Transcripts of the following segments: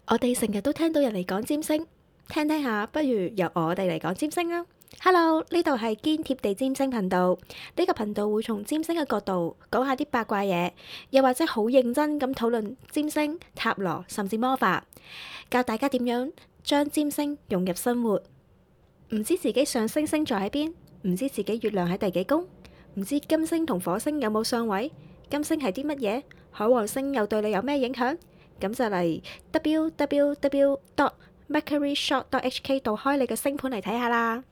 我哋成日都聽到人嚟講占星，聽聽下，不如由我哋嚟講占星啦。Hello，呢度係堅貼地占星頻道，呢個頻道會從占星嘅角度講下啲八卦嘢，又或者好認真咁討論占星、塔羅甚至魔法，教大家點樣將占星融入生活。唔知自己上升星座喺邊，唔知自己月亮喺第幾宮，唔知金星同火星有冇相位，金星係啲乜嘢，海王星又對你有咩影響？咁就嚟 www.mercuryshop.hk 度開你嘅星盤嚟睇下啦。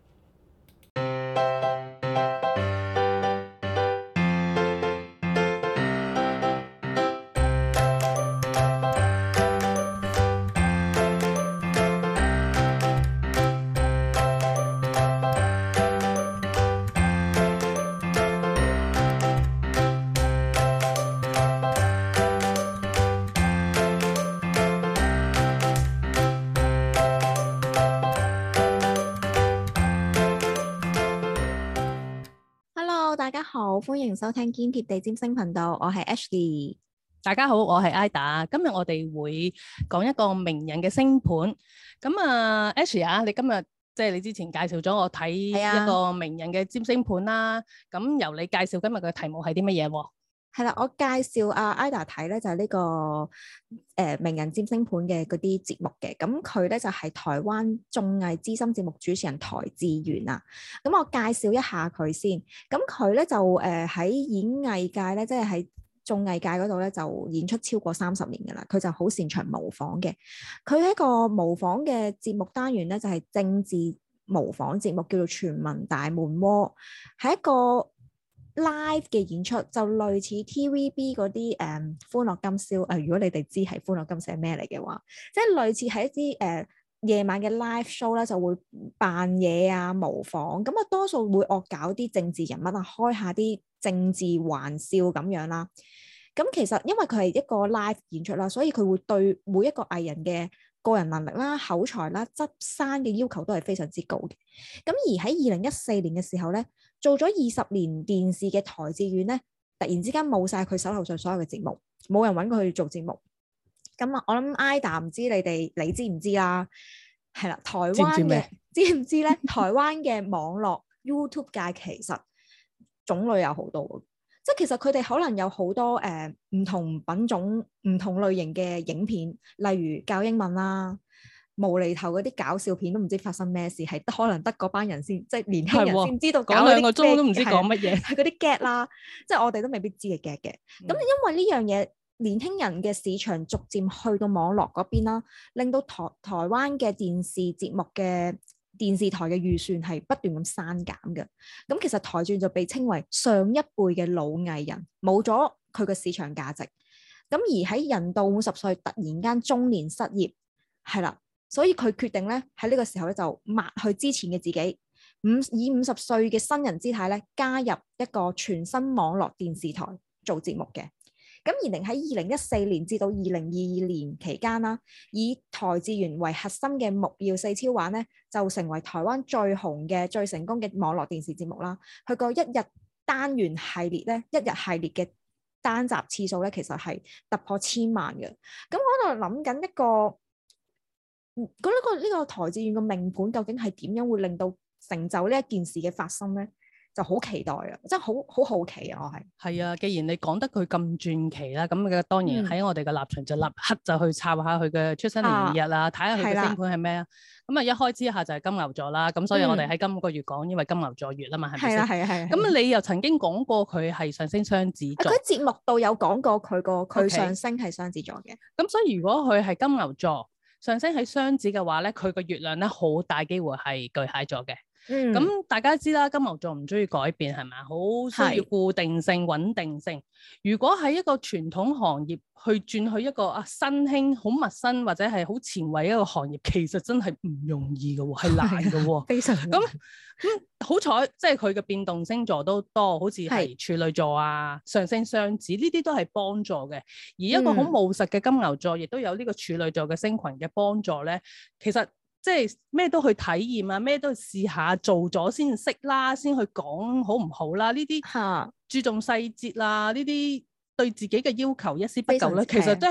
大家好，歡迎收聽堅貼地占星頻道，我係 Ashley。 大家好，我係 Ida。今日我哋會講一個名人嘅星盤。咁啊 ，Ashley 啊，你今日即係你之前介紹咗我睇一個名人嘅占星盤啦。咁由你介紹今日嘅題目係啲乜嘢喎？ 係啦，我介紹阿 Ida 睇咧就係呢個名人占星盤嘅嗰啲節目嘅。咁佢咧就係台灣綜藝資深節目主持人台志遠啊。咁我介紹一下佢先。咁佢咧就喺演藝界咧，即係喺綜藝界嗰度咧就演出超過30年㗎啦。佢就好擅長模仿嘅。佢喺一個模仿嘅節目單元咧，就係政治模仿節目，叫做全民大悶鍋，係一個live 嘅演出，就類似 TVB 嗰啲歡樂今宵如果你哋知係歡樂今宵係咩嚟嘅話，即係類似係一啲夜晚嘅 live show 咧，就會扮嘢啊、模仿，咁啊多數會惡搞啲政治人物啊，開下啲政治玩笑咁樣啦。咁其實因為佢係一個 live 演出啦，所以佢會對每一個藝人嘅個人能力啦、口才啦、執生嘅要求都係非常之高嘅。咁而喺2014年嘅時候咧，做咗20年電視嘅台志遠咧，突然之間冇晒佢手頭上所有嘅節目，冇人揾佢去做節目。咁啊，我諗 Ida 唔知你知唔知啦？係啦，台灣嘅知唔知咧？台灣嘅網絡 YouTube 界其實種類有好多，即係其實佢哋可能有好多唔同品種、唔同類型嘅影片，例如教英文啦、無厘頭嗰啲搞笑片，都唔知發生咩事，係可能得嗰班人先，即係年輕人先知道搞講2個鐘都唔知講乜嘢， 係嗰啲 get 啦，即係我哋都未必知嘅 get 嘅。咁因為呢樣嘢，年輕人嘅市場逐漸去到網絡嗰邊啦，令到台灣嘅電視節目嘅電視台嘅預算係不斷咁刪減嘅。咁其實台志遠就被稱為上一輩嘅老藝人，冇咗佢嘅市場價值。咁而喺人到50歲突然間中年失業，係啦，所以佢決定咧喺呢個時候咧就抹去之前嘅自己，以50歲嘅新人姿態咧加入一個全新網絡電視台做節目嘅。咁而喺2014年至到2022年期間啦，以台志遠為核心嘅木曜4超玩咧，就成為台灣最紅嘅、最成功嘅網絡電視節目啦。佢個一日單元系列咧，一日系列嘅單集次數咧，其實係突破1000萬嘅。咁我喺度諗緊一個，呢個台志遠嘅命盤究竟係點樣會令到成就呢一件事嘅發生咧？就好期待啊！真係好好奇啊！我係啊，既然你講得佢咁傳奇啦，咁嘅當然喺我哋嘅立場就立刻就去查下佢嘅出生年月日啦，睇下佢嘅星盤係咩啊。咁啊，一開之下就係金牛座啦，咁所以我哋喺今個月講，因為金牛座月啊嘛，係咪先？係。咁你又曾經講過佢係上升雙子座， 佢節目度有講過佢上升係雙子座嘅。 咁所以如果佢係金牛座上升喺雙子嘅話咧，佢個月亮咧好大機會係巨蟹座嘅。咁大家知啦，金牛座唔中意改變，係咪？好需要固定性、穩定性。如果喺一個傳統行業去轉去一個新興、好陌生或者係好前衛一個行業，其實真係唔容易嘅喎，係難嘅喎， 非常難。 好彩，即係佢嘅變動星座都多，好似係處女座啊、上升雙子呢啲都係幫助嘅。而一個好務實嘅金牛座，亦都有呢個處女座嘅星群嘅幫助咧。其實即係咩都去體驗啊，咩都去試下做咗先識啦，先去講好唔好啦。呢啲注重細節啦，呢啲對自己嘅要求一絲不苟咧，其實都係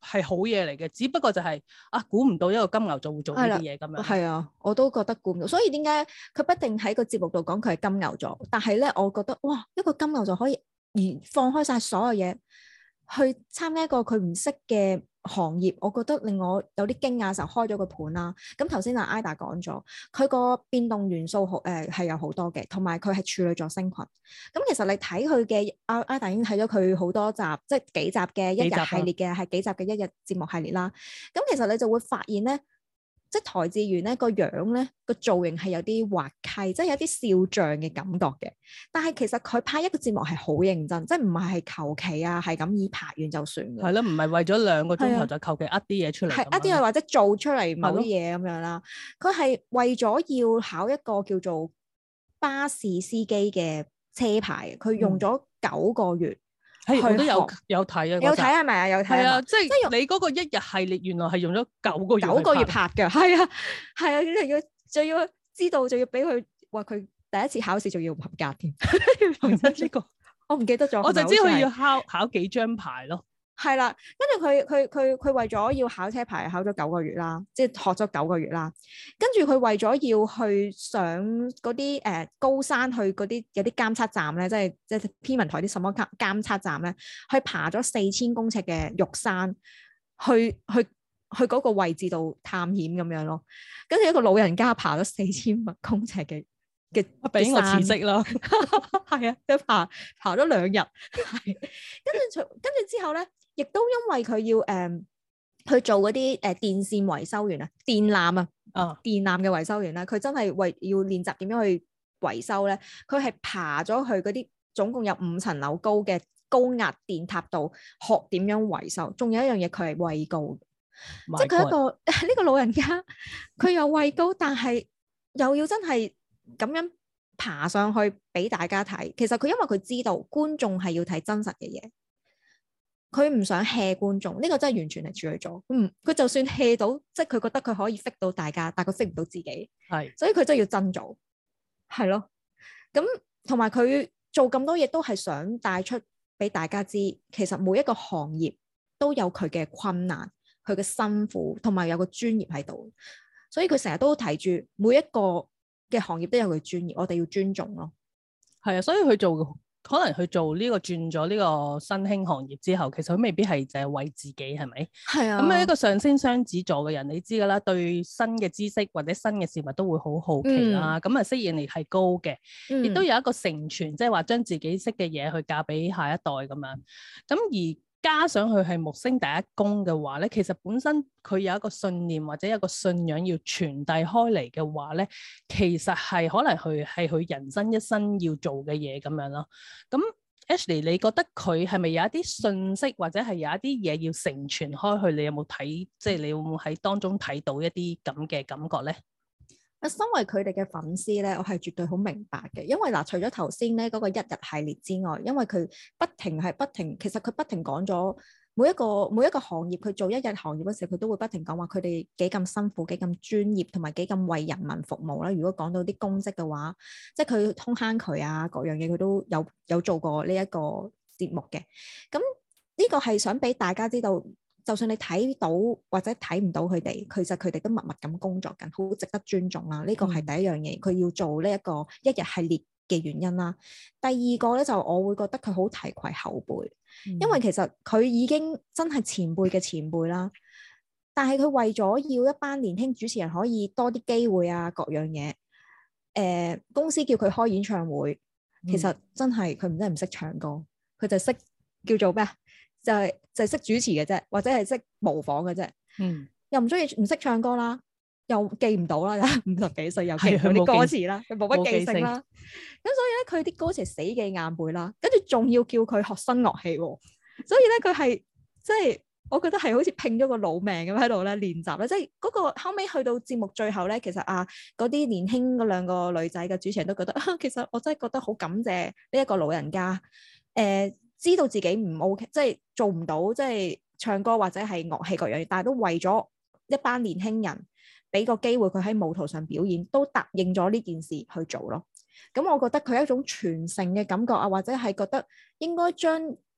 係好嘢嚟嘅，只不過就係估唔到一個金牛座會做呢啲嘢咁樣。 係啊，我都覺得估唔到，所以點解佢不定喺個節目度講佢係金牛座，但係咧，我覺得哇，一個金牛座可以放開晒所有嘢去參加一個佢唔識嘅行業，我覺得令我有啲驚訝，就開咗個盤啦。咁頭先阿 Ida 講咗，佢個變動元素係有好多嘅，同埋佢係處女座星群。咁其實你睇佢嘅Ida 已經睇咗佢好多集，即係幾集嘅一日系列嘅，係幾集嘅一日節目系列啦。咁其實你就會發現咧，即係台志源咧個樣咧個造型係有啲滑稽，即係有啲笑匠嘅感覺嘅。但係其實佢拍一個節目係好認真，即係唔係求其啊，係咁以拍完就算嘅。 係咯，唔係為咗2個鐘頭就求其呃啲嘢出嚟。 係呃啲嘢或者做出嚟某啲嘢咁樣啦。佢係為咗要考一個叫做巴士司機嘅車牌，佢用咗9個月。 我都有睇啊， 有睇係咪啊？有睇啊，即係你嗰個一日系列原來係用咗9個月拍嘅，係啊，係啊，仲要知道，仲要俾佢話佢第一次考試仲要唔合格添。呢個我唔記得咗， 我就知佢要考幾張牌咯。 係啦，跟住佢為咗要考車牌，考咗9個月啦，即係學咗9個月啦。跟住佢為咗要去上嗰啲高山，去嗰啲有啲監測站咧，即係天文台啲什麼監測站咧，去爬咗4000公尺嘅玉山，去嗰個位置度探險咁樣咯。跟住一個老人家爬咗4000公尺嘅俾我辭職啦。 係啊，佢爬咗2日，係跟住之後咧。亦都因為佢要去做嗰啲電線維修員啊，電纜電纜嘅維修員咧，佢真係要練習點樣去維修咧。佢係爬咗去嗰啲總共有5層樓高嘅高壓電塔度學點樣維修。仲有一樣嘢，佢係畏高，即係佢一個呢個老人家，佢有畏高，但係又要真係咁樣爬上去俾大家睇。其實佢因為佢知道觀眾係要睇真實嘅嘢。佢唔想 hea 觀眾，呢個真係完全係處女座。佢就算 hea 到，即係佢覺得佢可以 fit 到大家，但係佢 fit 唔到自己。係，所以佢真係要真做，係咯。咁同埋佢做咁多嘢都係想帶出俾大家知，其實每一個行業都有佢嘅困難、佢嘅辛苦，同埋有個專業喺度。所以佢成日都提住每一個嘅行業都有佢專業，我哋要尊重咯。 係啊，所以佢可能佢做呢個轉咗呢個新興行業之後，其實佢未必係淨係為自己，係咪？係啊。咁一個上升雙子座嘅人，你知㗎啦，對新嘅知識或者新嘅事物都會好好奇啦。咁適應力係高嘅，亦都有一個承傳，即係話將自己識嘅嘢去教俾下一代咁樣。咁而加上佢係木星第一宮嘅話咧，其實本身佢有一個信念或者有一個信仰要傳遞開嚟嘅話咧，其實係可能佢人生一生要做嘅嘢咁樣咯。咁 Ashley， 你覺得佢係咪有一啲信息或者係有一啲嘢要承傳開去？你有冇睇？即係你會唔會喺當中睇到一啲咁嘅感覺咧？ 身為佢哋嘅粉絲咧，我係絕對好明白嘅，因為除咗頭先咧嗰個一日系列之外，因為佢不停，其實佢不停講咗每一個行業，佢做一日行業嗰時，佢都會不停講話佢哋幾咁辛苦、幾咁專業，同埋幾咁為人民服務啦。如果講到啲公職嘅話，即係佢通坑渠啊，各樣嘢佢都有做過呢一個節目嘅。咁呢個係想俾大家知道。就算你睇到或者睇唔到佢哋，其實佢哋都默默咁工作緊，好值得尊重啦。呢個係第一樣嘢，佢要做呢一個一日系列嘅原因啦。第二個咧就我會覺得佢好提攜後輩，因為其實佢已經真係前輩嘅前輩啦。但係佢為咗要一班年輕主持人可以多啲機會啊，各樣嘢，公司叫佢開演唱會，其實真係佢唔識唱歌，佢就識叫做咩啊？就係識主持嘅啫，或者係識模仿嘅啫。又唔識唱歌啦，又記唔到啦，50幾歲又記唔到啲歌詞啦，佢冇乜記性啦。咁所以咧，佢啲歌詞死記硬背啦，跟住仲要叫佢學新樂器喎。所以咧，佢係即係我覺得係好似拼咗個老命咁喺度咧練習咧。即係嗰個後尾去到節目最後咧，其實嗰啲年輕嗰2個女仔嘅主持人都覺得其實我真係覺得好感謝呢一個老人家。知道自己唔 OK，即係做唔到，即係唱歌或者係樂器各樣嘢，但係都為咗一班年輕人俾個機會佢喺舞台上表演，都答應咗呢件事去做咯。咁我覺得佢係一種傳承嘅感覺啊，或者係覺得應該將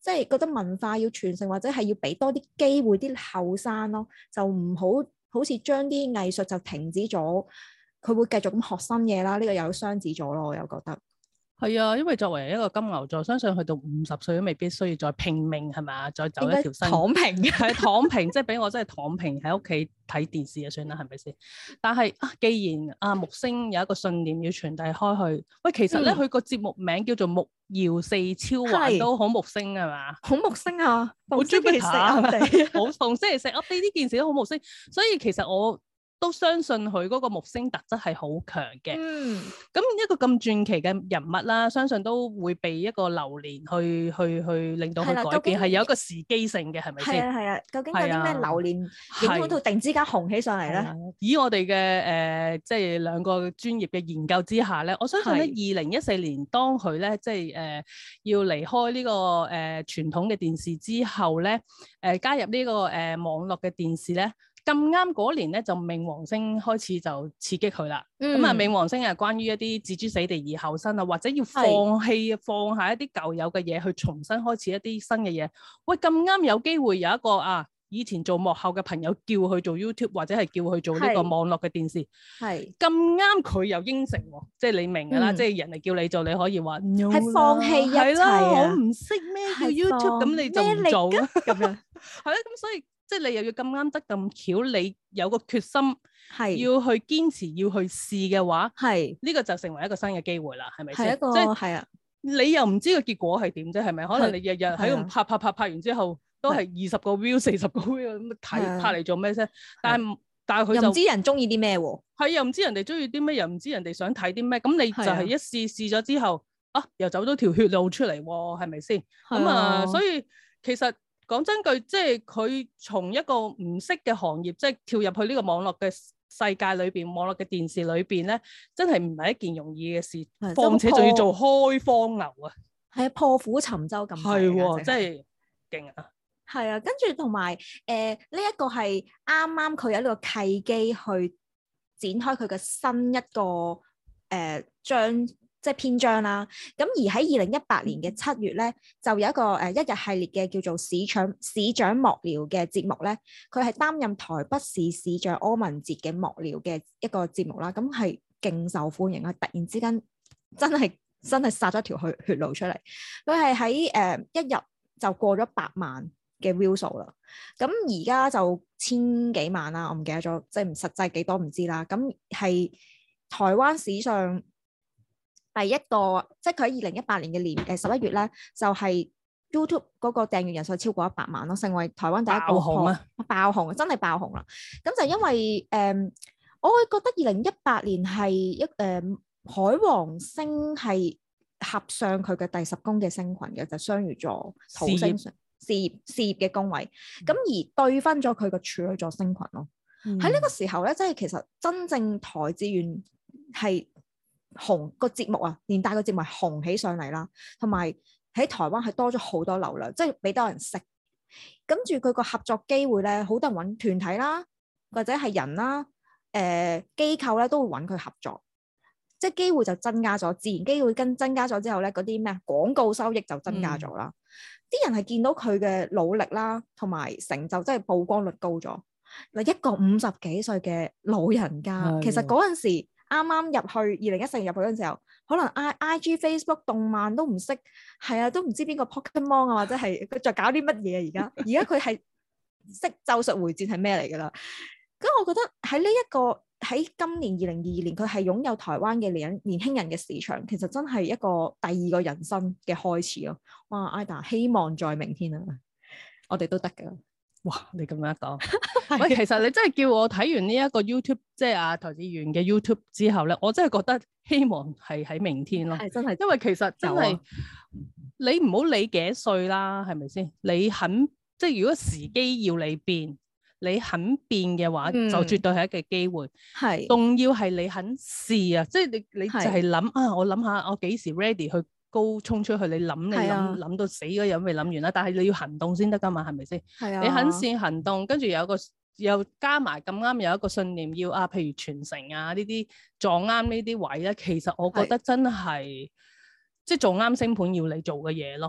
即係覺得文化要傳承，或者係要俾多啲機會啲後生咯，就唔好似將啲藝術就停止咗，佢會繼續咁學新嘢啦。呢個有雙子座咯，我又覺得。 係啊，因為作為一個金牛座，相信去到50歲都未必需要再拼命係咪，再走一條新躺平嘅， 係躺平，即係俾我真係躺平喺屋企睇電視就算啦，係咪先？但係既然木星有一個信念要傳遞開去，喂，其實咧佢個節目名叫做木曜四超環都好木星係嘛？ 好木星啊， 好 Jupiter 好逢星期四 update 呢件事都好木星，所以其實我都相信佢嗰個木星特質係好強嘅。咁一個咁傳奇嘅人物啦，相信都會被一個流年去令到佢改變，係有一個時機性嘅，係咪先？ 係啊，究竟有啲咩流年影響到突然之間紅起上嚟咧？ 以我哋嘅即係兩個專業嘅研究之下咧，我相信咧2014年當佢咧即係要離開呢個傳統嘅電視之後咧，加入呢個網絡嘅電視咧。咁啱嗰年咧，就冥王星開始就刺激佢啦。咁冥王星係關於一啲置諸死地而後生啊，或者要放下一啲舊有嘅嘢，去重新開始一啲新嘅嘢。喂，咁啱有機會有一個以前做幕後嘅朋友叫佢做 YouTube， 或者係叫佢做呢個網絡嘅電視。係咁啱佢又應承喎，即係你明㗎啦，即係人哋叫你做，你可以話係放棄一切我唔識咩叫 YouTube， 咁你就唔做啦。咁樣係啦，咁所以。即係你又要咁啱得咁巧，你有個決心要去堅持要去試嘅話，呢個就成為一個新嘅機會啦，係咪先？ 係一個係啊， 你又唔知個結果係點啫，係咪？可能你日日喺度拍完之後，都係20個 view、40個 view 咁睇，拍嚟做咩啫？但係佢就又唔知人中意啲咩喎？ 係又唔知人哋中意啲咩，又唔知人哋想睇啲咩，咁你就係一試咗之後，又走咗條血路出嚟喎，係咪先？咁所以其實。講真句，即係佢從一個唔識嘅行業，即係跳入去呢個網絡嘅世界裏邊，網絡嘅電視裏邊咧，真係唔係一件容易嘅事，況且仲要做開荒牛啊！ 係啊，破釜沉舟咁係喎，真係勁啊！ 係啊，跟住同埋呢一個係啱啱佢有呢個契機去展開佢嘅新一個章。即係篇章啦，咁而喺2018年嘅7月咧，就有一個一日系列嘅叫做市長幕僚嘅節目咧，佢係擔任台北市市長柯文哲嘅幕僚嘅一個節目啦，咁係勁受歡迎啊！突然之間真係殺咗條血路出嚟，佢係喺一日就過咗100萬嘅 view 數啦，咁而家就1000幾萬啦，我唔記得咗，即係唔實際幾多唔知啦，咁係台灣史上。第一個，即係佢喺2018年嘅11月咧，就係 YouTube 嗰個訂閱人數超過100萬咯，成為台灣第一個爆紅，真係爆紅啦！咁就因為我會覺得2018年係海王星係合上佢嘅第10宮嘅星群嘅，就雙魚座土星事業嘅宮位，咁而對分咗佢個處女座星群咯。喺呢個時候咧，即係其實真正台資源係。紅個節目啊，連帶個節目係紅起上嚟啦，同埋喺台灣係多咗好多流量，即係俾多人識。跟住佢個合作機會咧，好多人揾團體啦，或者係人啦，機構咧都會揾佢合作，即係機會就增加咗，自然機會增加咗之後咧，嗰啲咩廣告收益就增加咗啦。啲人係見到佢嘅努力啦，同埋成就，即係曝光率高咗。嗱，一個50幾歲嘅老人家，其實嗰陣時。啱啱入去2014年入去嗰陣時候，可能 IG、Facebook、動漫都唔識，係啊，都唔知邊個 Pokemon 啊，或者係佢再搞啲乜嘢啊？而家佢係識咒術迴戰係咩嚟㗎啦？咁我覺得喺呢一個喺今年2022年，佢係擁有台灣嘅年輕人嘅市場，其實真係一個第二個人生嘅開始咯。哇 Ida 希望在明天啊，我哋都得㗎。 哇！你咁樣講，喂，其實你真係叫我睇完呢一個 YouTube， 即係台資源嘅 YouTube 之後咧，我真係覺得希望係喺明天咯。係真係，因為其實真係你唔好理幾歲啦，係咪先？你肯即係如果時機要你變，你肯變嘅話，就絕對係一個機會。係，仲要係你肯試啊！即係你就係諗啊，我諗下我幾時 ready 去。高衝出去，你諗到死嗰樣未諗完啦，但係你要行動先得噶嘛，係咪先？係啊，你肯先行動，跟住又加埋咁啱有一個信念要譬如傳承啊呢啲撞啱呢啲位咧，其實我覺得真係即係撞啱星盤要你做嘅嘢咯。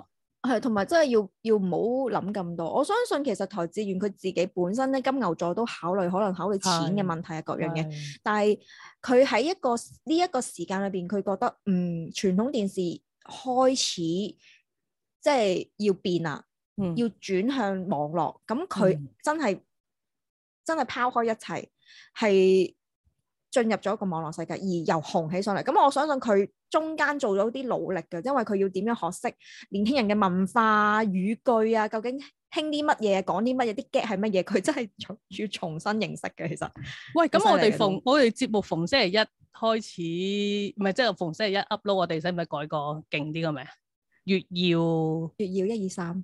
係，同埋真係要唔好諗咁多。我相信其實台志遠佢自己本身咧金牛座都可能考慮錢嘅問題啊各樣嘅，但係佢喺呢一個時間裏邊，佢覺得傳統電視開始即係要變啦，要轉向網絡，咁佢真係拋開一切，係進入咗一個網絡世界，而又紅起上嚟。咁我相信佢中間做咗啲努力嘅，因為佢要點樣學識年輕人嘅文化語句啊，究竟興啲乜嘢，講啲乜嘢，啲 get 係乜嘢，佢真係要重新認識嘅。其實，喂， 咁我哋節目逢星期一開始，唔係即係逢星期一 upload，我哋使唔使改個勁啲嘅名？月曜 123，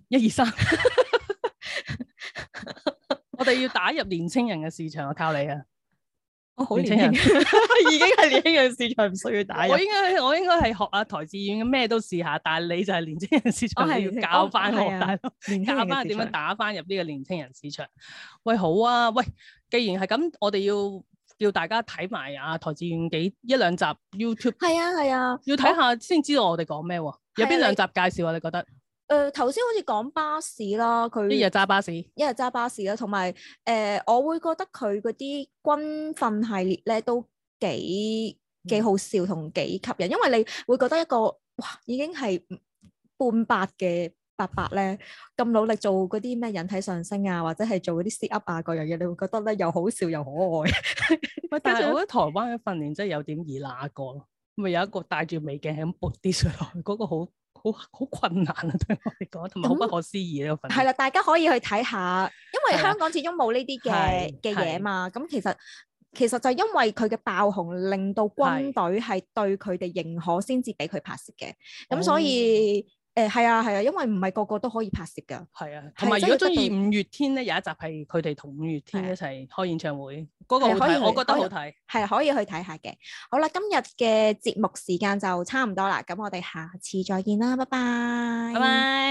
我哋要打入年青人嘅市場，我靠你啊！ 我好年輕人，已經係年輕人市場，唔需要打入。 我應該係學阿台志遠嘅咩都試下，但係你就係年青人市場，你要教翻我大佬，教翻點樣打翻入呢個年青人市場。喂，好啊，喂，既然係咁，我哋要叫大家睇埋阿台志遠一兩集 YouTube。係啊， 要睇下先知道我哋講咩喎？有邊兩集介紹啊？你覺得？ 頭先好似講巴士啦，佢一日揸巴士啦，同埋我會覺得佢嗰啲軍訓系列咧都幾好笑同幾吸引，因為你會覺得一個已經係半百嘅伯伯咧咁努力做嗰啲咩引體上升啊，或者係做嗰啲 sit up 啊嗰樣嘢，你會覺得咧又好笑又可愛。 喂，但係我覺得台灣嘅訓練真係有點易那個咯，咪有一個戴住美鏡係咁撥啲上去，嗰個好困難啊，對我嚟講，同埋好不可思議呢個訓練。係啦， 大家可以去睇下，因為香港始終冇呢啲嘅嘢嘛。咁其實就係因為佢嘅爆紅，令到軍隊係對佢哋認可，先至俾佢拍攝嘅。咁所以係啊，因為唔係個個都可以拍攝㗎。係啊，同埋如果中意五月天咧，有一集係佢哋同五月天一齊開演唱會，嗰個好睇，我覺得好睇，係可以去睇下嘅。好啦，今日嘅節目時間就差唔多啦，咁我哋下次再見啦，拜拜。拜拜。